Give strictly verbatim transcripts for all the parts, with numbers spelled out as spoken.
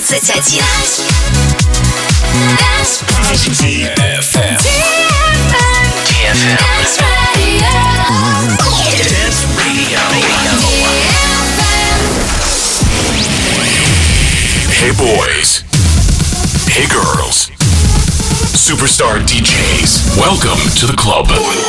двадцать один. ди эф эм. ди эф эм. Dance Radio. Hey boys. Hey girls. Superstar ди джейс. Welcome to the club.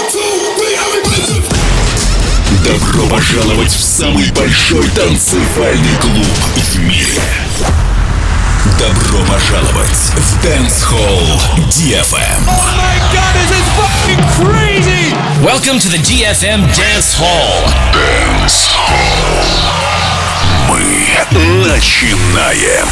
Добро пожаловать в самый большой танцевальный клуб в мире. Добро пожаловать в Dance Hall ди эф эм. Oh my god, this is fucking crazy! Welcome to the ди эф эм Dance Hall. Dance Hall. Мы начинаем.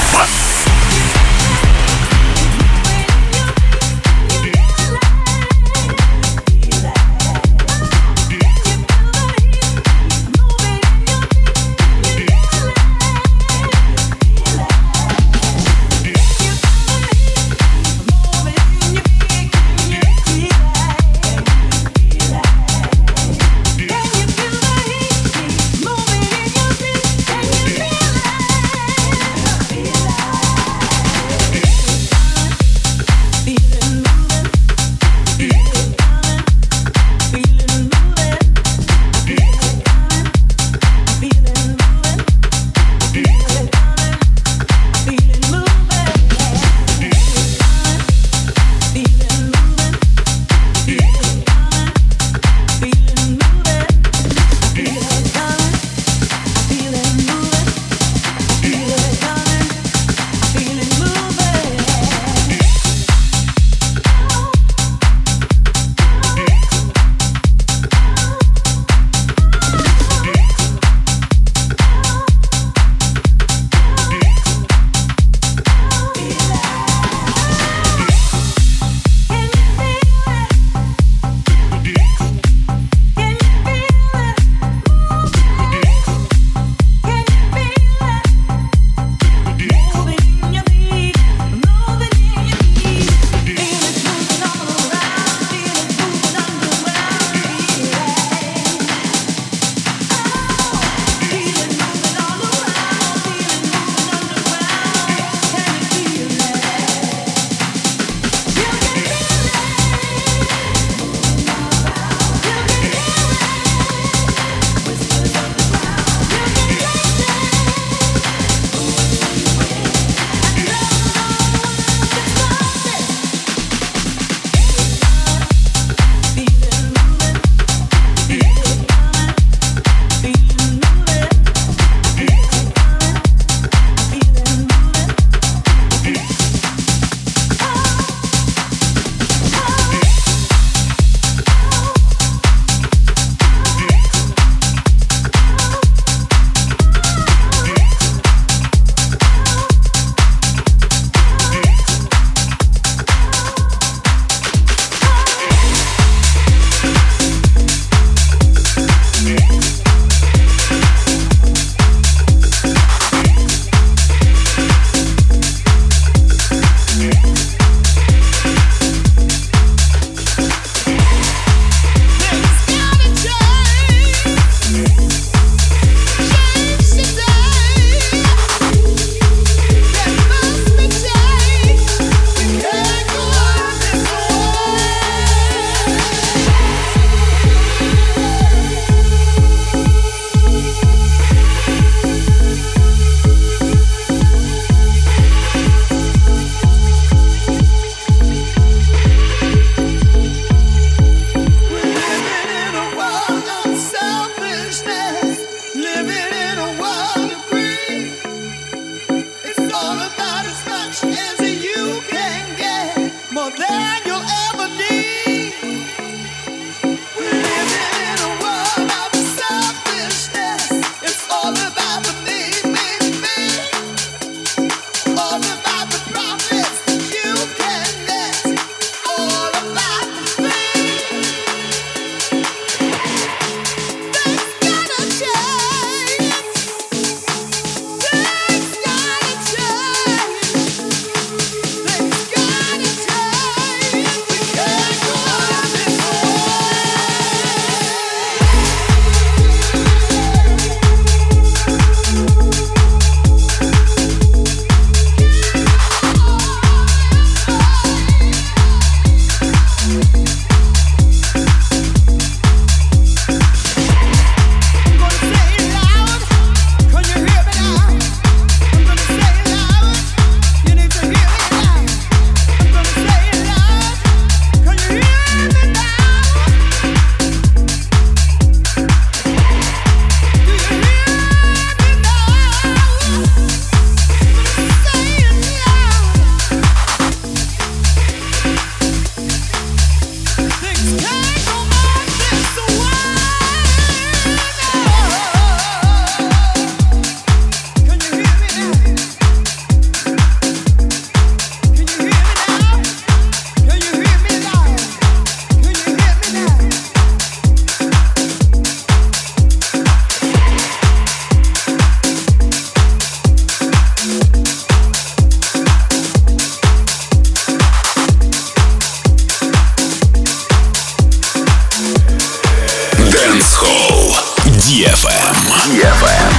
ди эф эм. ди эф эм.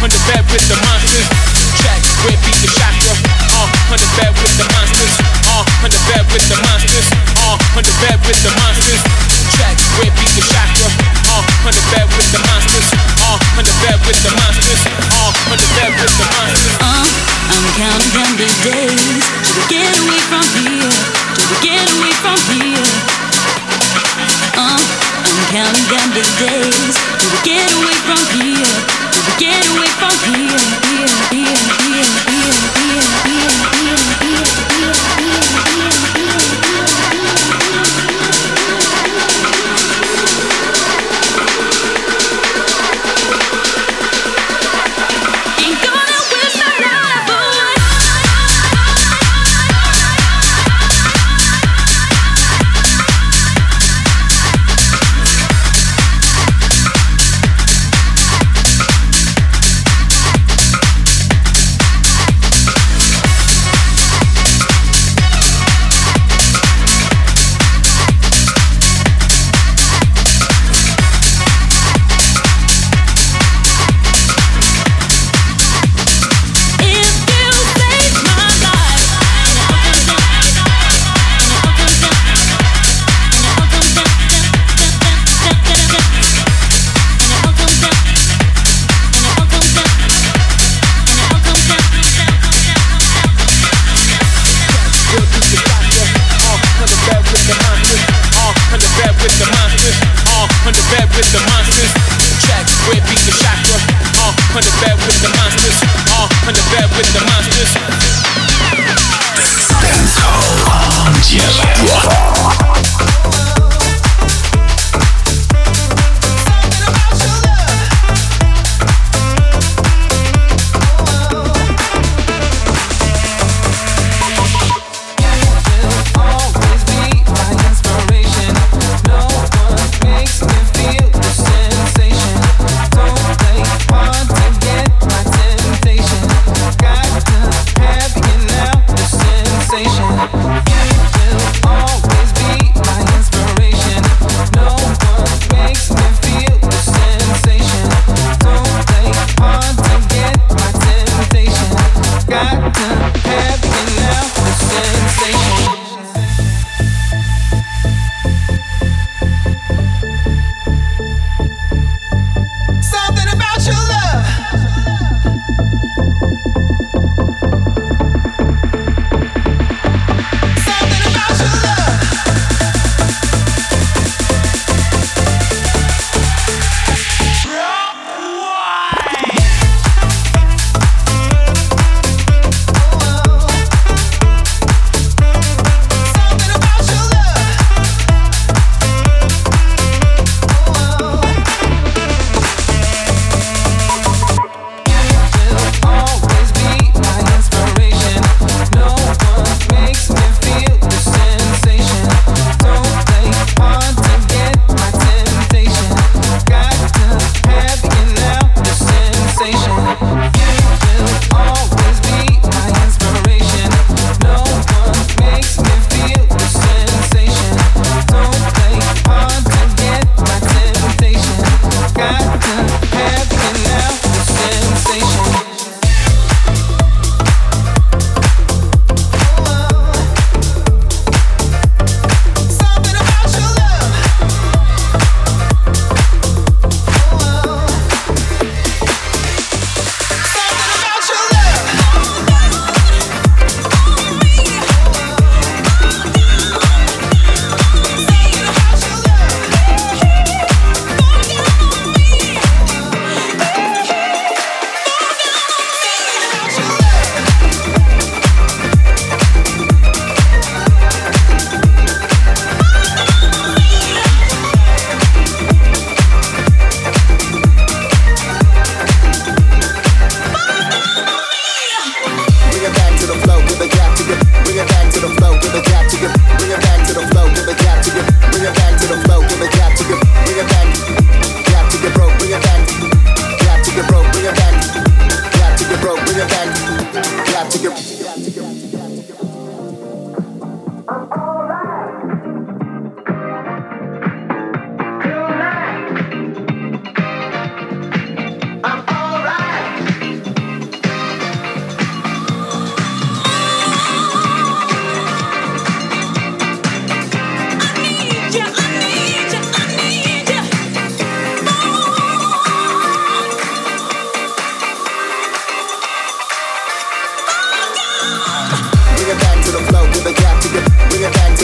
on the bed with the monsters. Track where beat the chakra. Uh, on the bed with the monsters. Uh, on the bed with the monsters. Uh, on the bed with the monsters. Track where beat the chakra. Uh, on the bed with the monsters. Uh, on the bed with the monsters. Uh, on the bed with the monsters. Uh, I'm counting down the days till we get away from here. Till we get away from here. Uh, I'm counting down the days till we get away from here. Till we get away from here. Here, here, here, here, here, here, here, here, here, Ain't gonna waste my life away.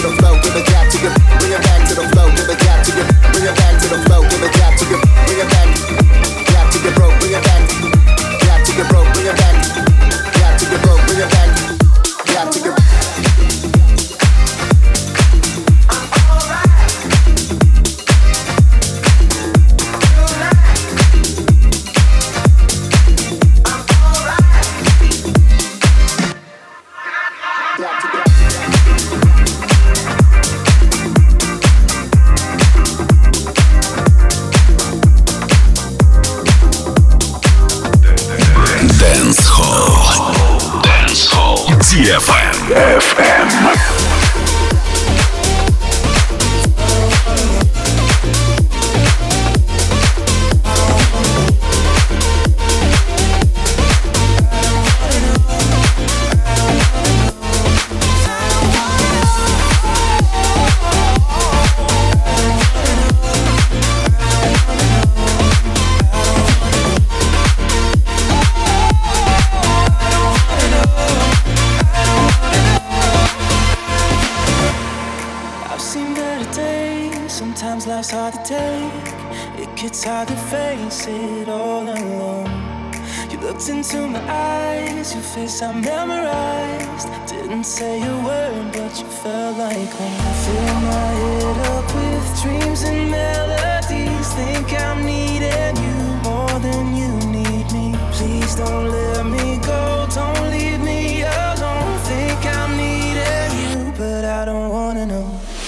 I memorized, didn't say a word, but you felt like home. Fill my head up with dreams and melodies. Think I'm needing you more than you need me. Please don't let me go, don't leave me alone. Think I'm needing you, but I don't wanna know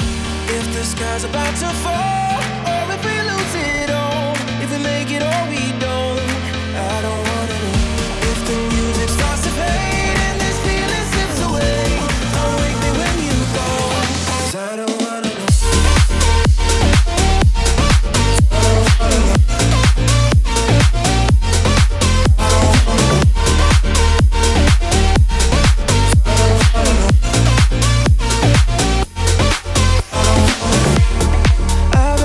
if the sky's about to fall or if we lose it all. If we make it or we don't, I don't wanna know if the music starts to fade. I've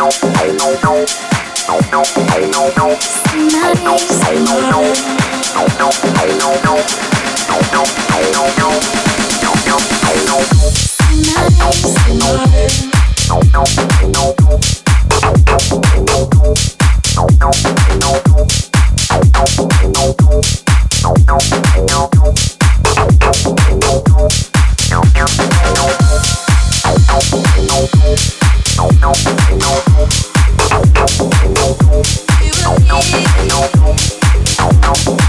You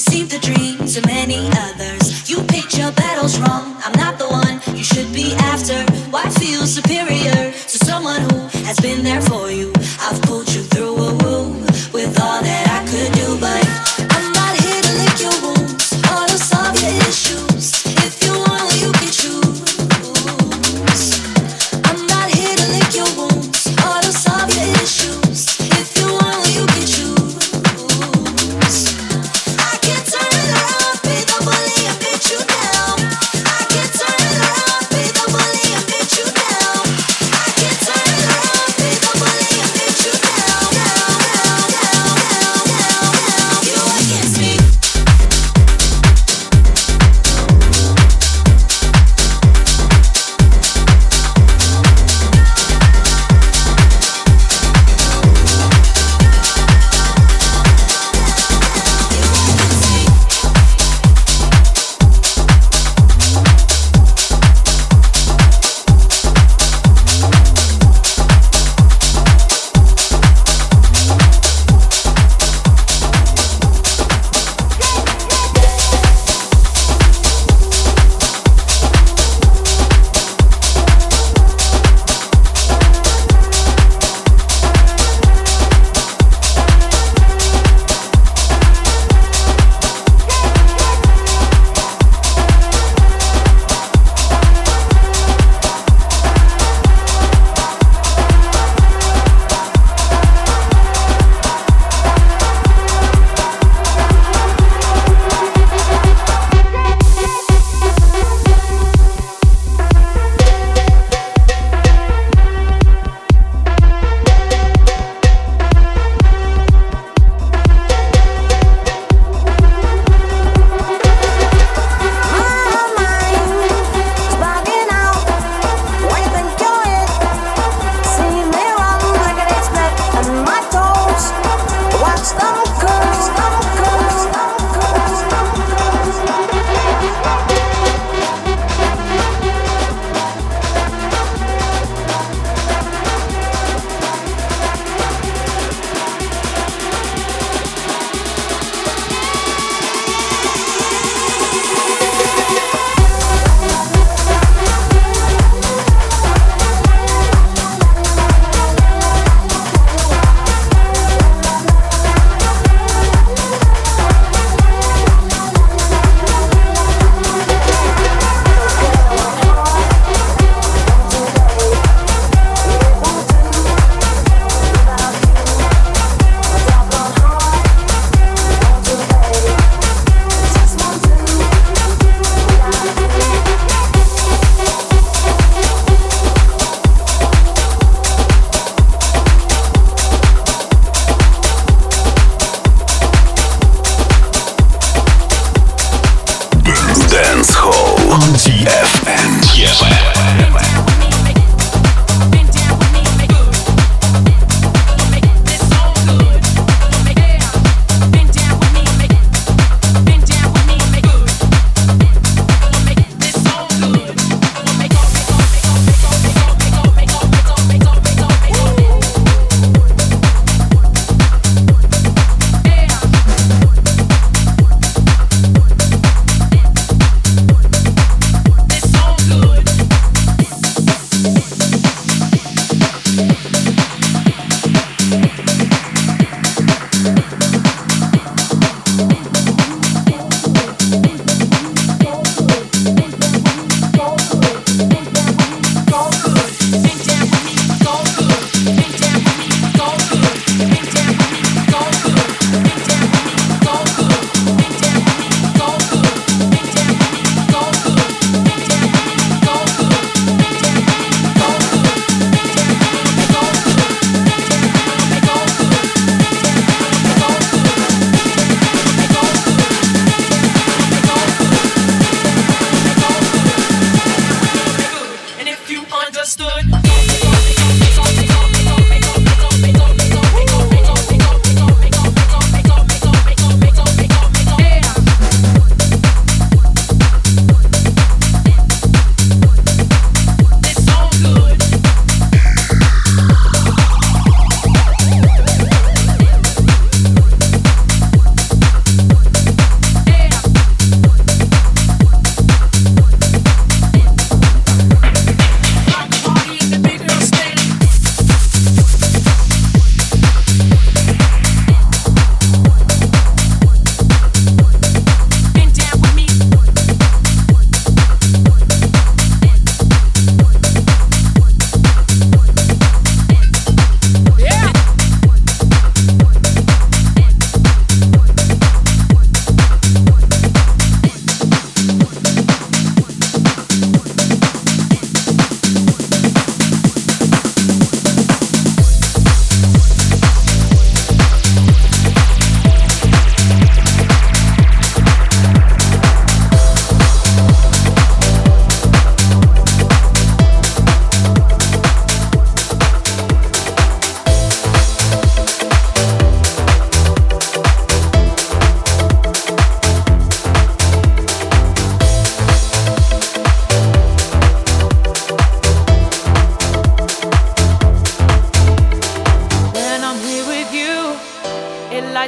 seem to dream so many others. You picked your battles wrong. I'm not the one you should be after. Why feel superior to someone who has been there for you? I've pulled you through a woo with all that I could do, but I'm not here to lick your wounds or to solve your issues. If you want, you can choose. I'm not here to lick your wounds or to solve your issues. If you want, you can choose. I can turn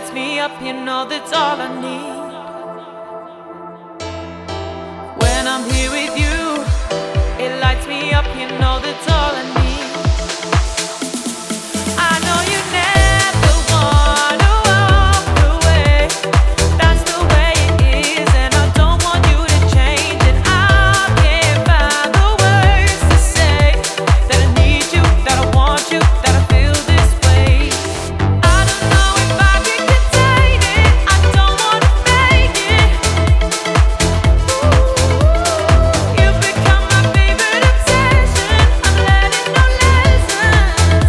lights me up, you know that's all I need. When I'm here with you, it lights me up, you know that's all I need. I know you never wanna walk away. That's the way it is, and I don't want you to change it. I can't find the words to say that I need you, that I want you, that I feel this way. I don't know if I can contain it. I don't wanna fake it. You've become my favorite obsession. I'm learning no lessons.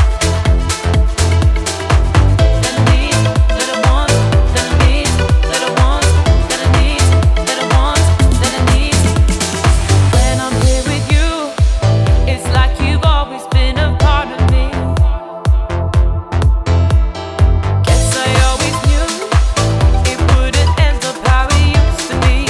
That I need, that I want, that I need, that I want, that I need, that I want, that I need. When I'm here with you, it's like you've always been a part of me. Guess I always knew it wouldn't end up how it used to be.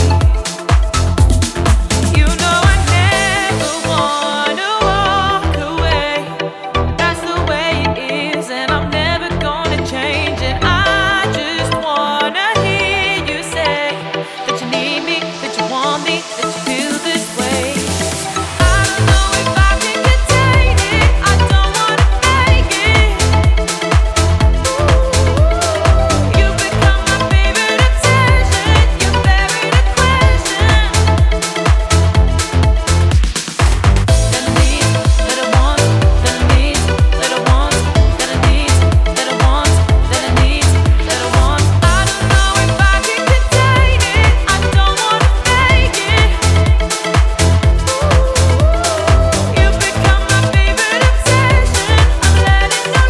You know I never wanna walk away. That's the way it is, and I'm never gonna change it. I just wanna hear you say that you need me, that you want me, that you feel this way. I don't know if I can contain it. I don't wanna fake it. You've become my favorite obsession. You're buried a question. That I need, that I want, that I need, that I want, that I need, that I want, that I need, that I want. I don't know if I can contain it. I don't wanna fake it. You've become my favorite obsession. I'm learning no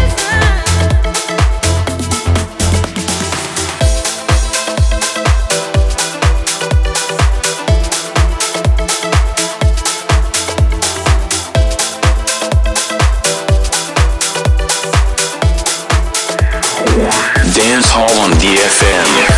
Dance Hall on D F M.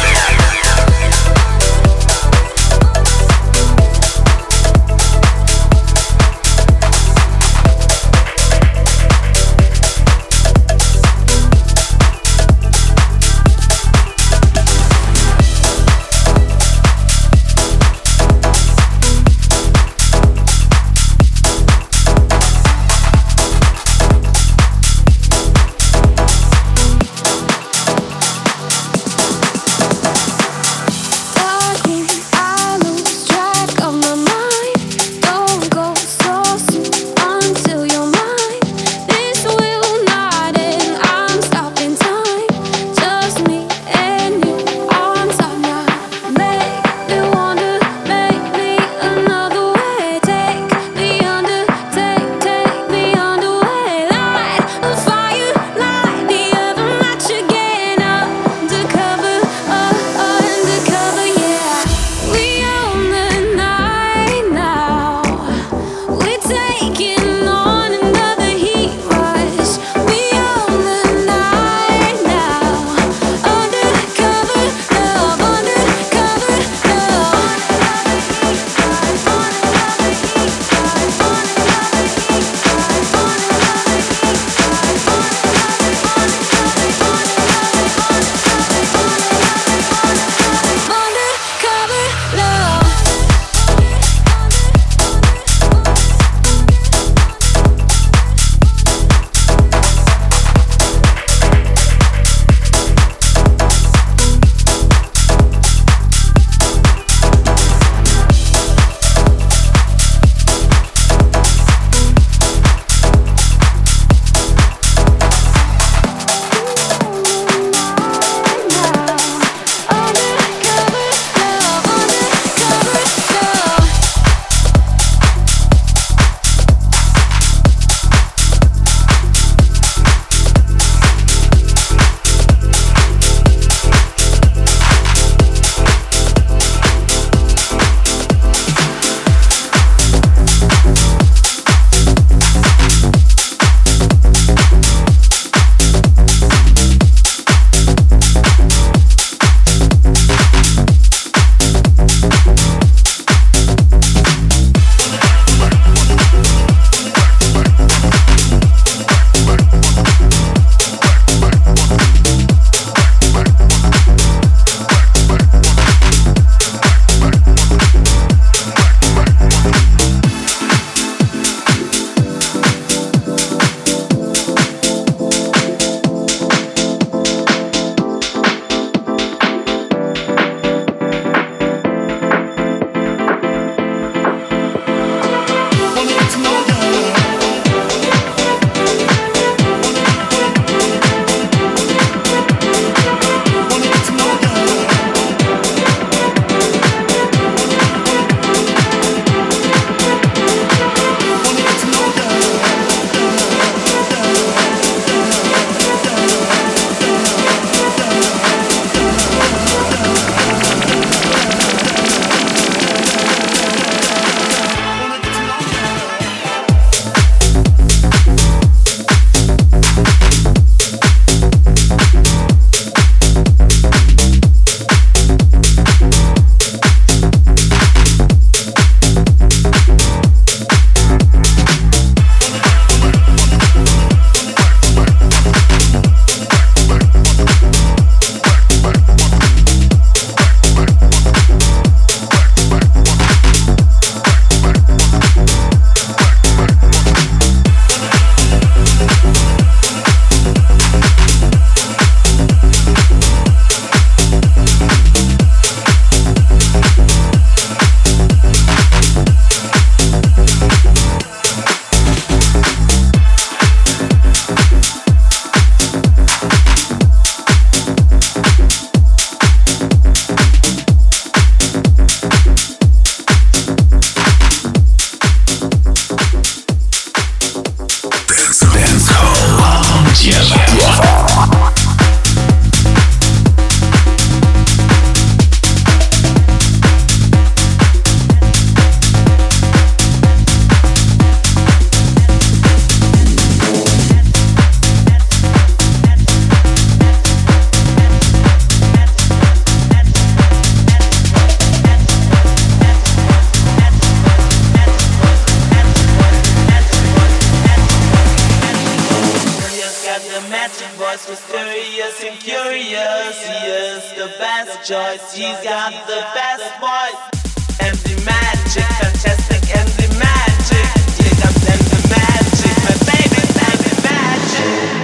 sexiest, the best choice. He's got the best voice. M D Magic, fantastic M D Magic. Here comes M D Magic, my favorite M D Magic.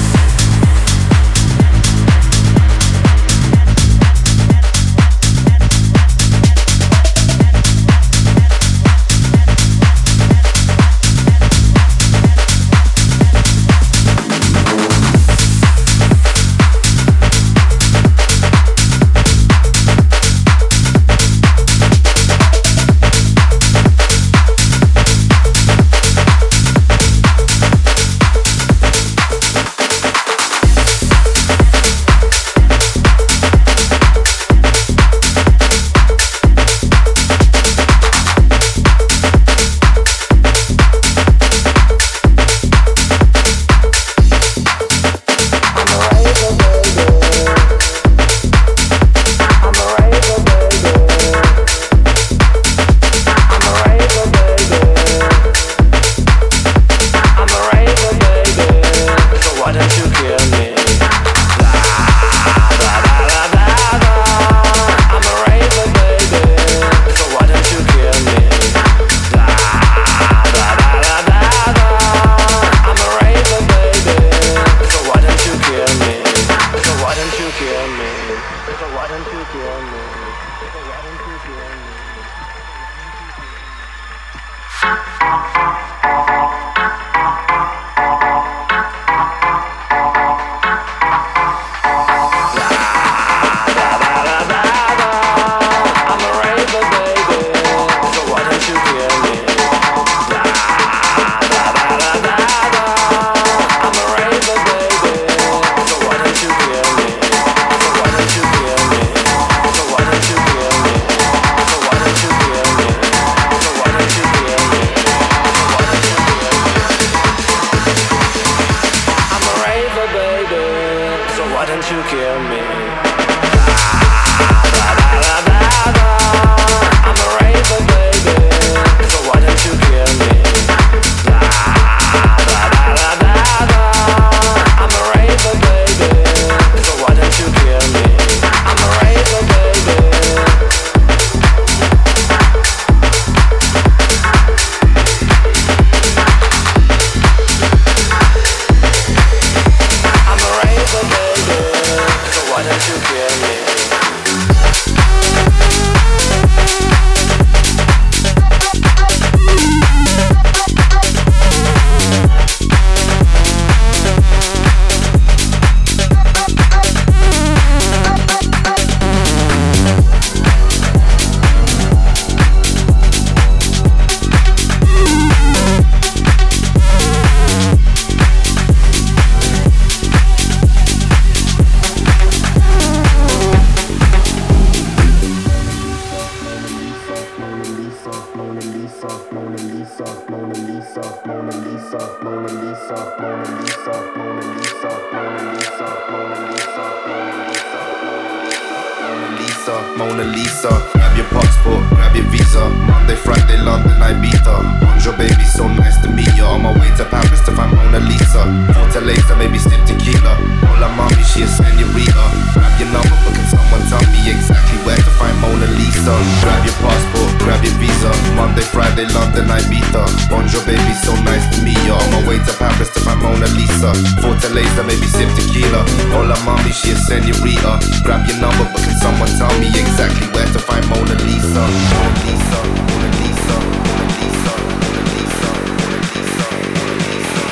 Mona Lisa. Grab your passport, grab your visa. Monday, Friday, London, Ibiza. Bonjour, baby, so nice to meet you. On my way to Paris to find Mona Lisa. Fortaleza, maybe sip tequila. Hola, mommy, she a senorita. Grab your number, but can someone tell me exactly where to find Mona Lisa? Grab your passport, grab your visa. Monday, Friday, London, Ibiza. Bonjour, baby, so nice to meet you. On my way to Paris to find Mona Lisa. Fortaleza, maybe sip tequila. Hola, mommy, she a senorita. Grab your number, but can someone tell me exactly where to find Mona Lisa? Mona Lisa, Mona Lisa, Mona Lisa, Mona Lisa, Mona Lisa, Mona Lisa.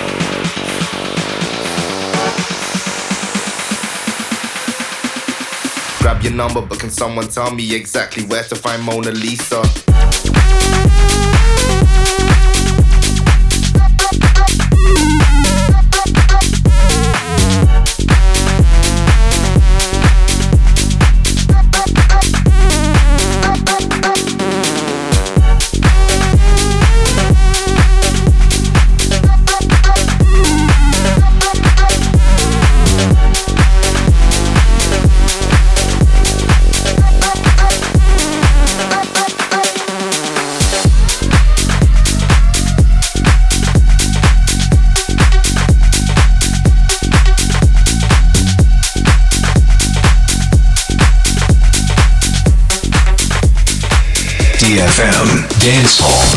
Grab your number, but can someone tell me exactly where to find Mona Lisa? ди эф эм Dance Hall.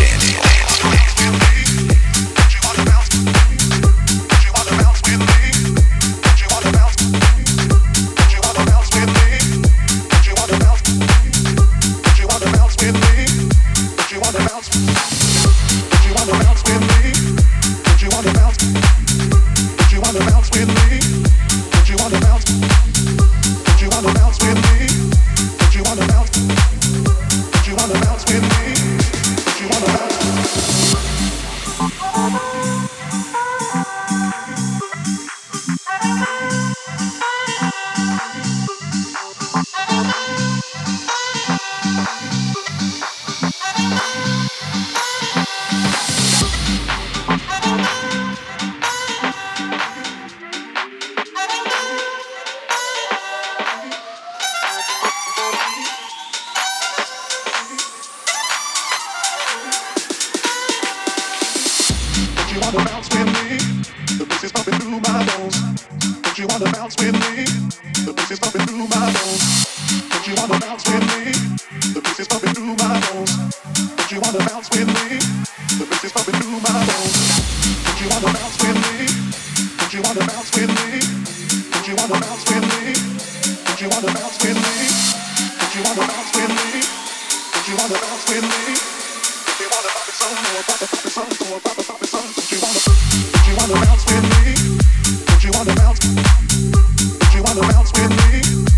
Bounce with me.